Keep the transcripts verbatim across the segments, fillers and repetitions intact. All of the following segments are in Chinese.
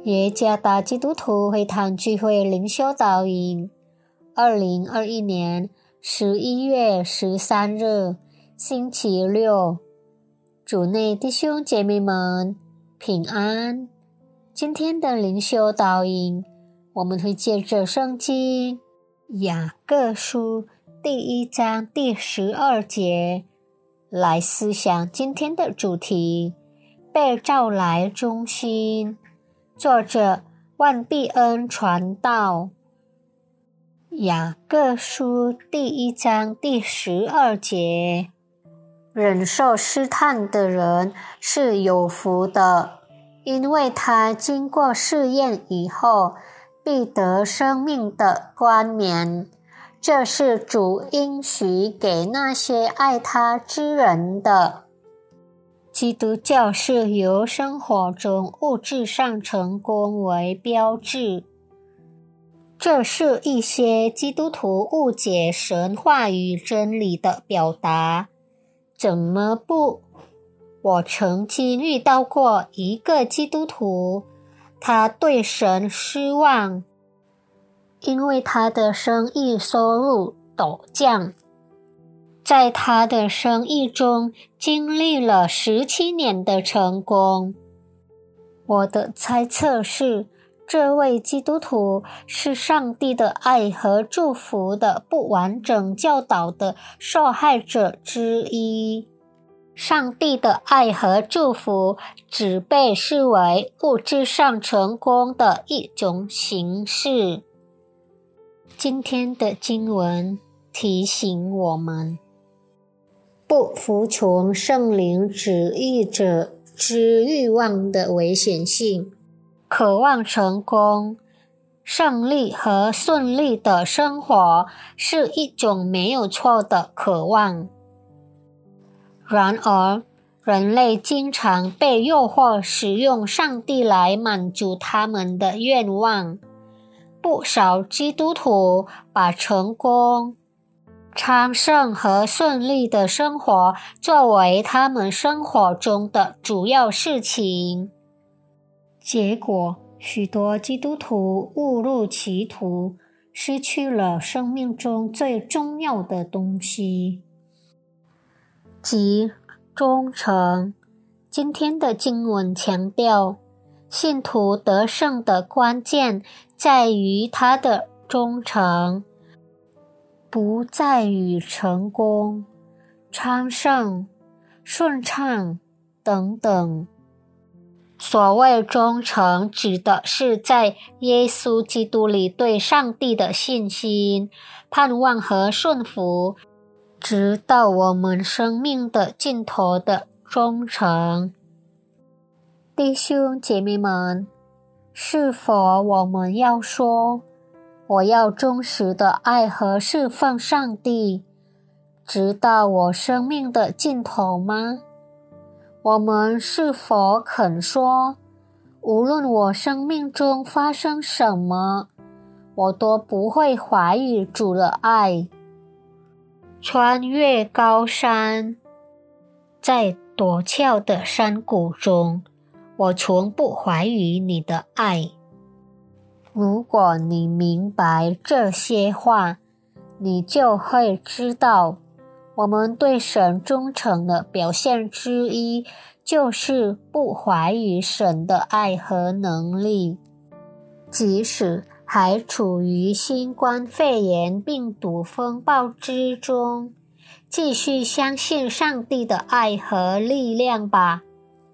耶加达基督徒会堂聚会灵修导引，二零二一年十一月十三日，星期六。主内弟兄姐妹们平安。今天的灵修导引，我们会借着圣经雅各书第一章第十二节来思想今天的主题：被召来忠心。作者万必恩传道。雅各书第一章第十二节，忍受试探的人是有福的，因为他经过试验以后，必得生命的冠冕。这是主应许给那些爱他之人的。基督教是由生活中物质上成功为标志，这是一些基督徒误解神话与真理的表达。怎么不？我曾经遇到过一个基督徒，他对神失望，因为他的生意收入陡降。在他的生意中经历了十七年的成功。我的猜测是，这位基督徒是上帝的爱和祝福的不完整教导的受害者之一。上帝的爱和祝福只被视为物质上成功的一种形式。今天的经文提醒我们，不服从圣灵旨意者之欲望的危险性。渴望成功、胜利和顺利的生活是一种没有错的渴望。然而，人类经常被诱惑使用上帝来满足他们的愿望。不少基督徒把成功、昌盛和顺利的生活作为他们生活中的主要事情。结果，许多基督徒误入歧途，失去了生命中最重要的东西，即忠诚。今天的经文强调，信徒得胜的关键在于他的忠诚，不在于成功、昌盛、顺畅等等。所谓忠诚，指的是在耶稣基督里对上帝的信心、盼望和顺服，直到我们生命的尽头的忠诚。弟兄姐妹们，是否我们要说，我要忠实的爱和侍奉上帝，直到我生命的尽头吗？我们是否肯说，无论我生命中发生什么，我都不会怀疑主的爱？穿越高山，在陡峭的山谷中，我从不怀疑你的爱。如果你明白这些话，你就会知道，我们对神忠诚的表现之一，就是不怀疑神的爱和能力。即使还处于新冠肺炎病毒风暴之中，继续相信上帝的爱和力量吧。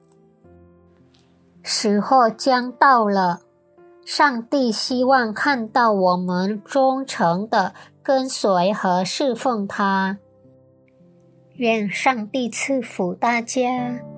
时候将到了，上帝希望看到我们忠诚地跟随和侍奉他。愿上帝赐福大家。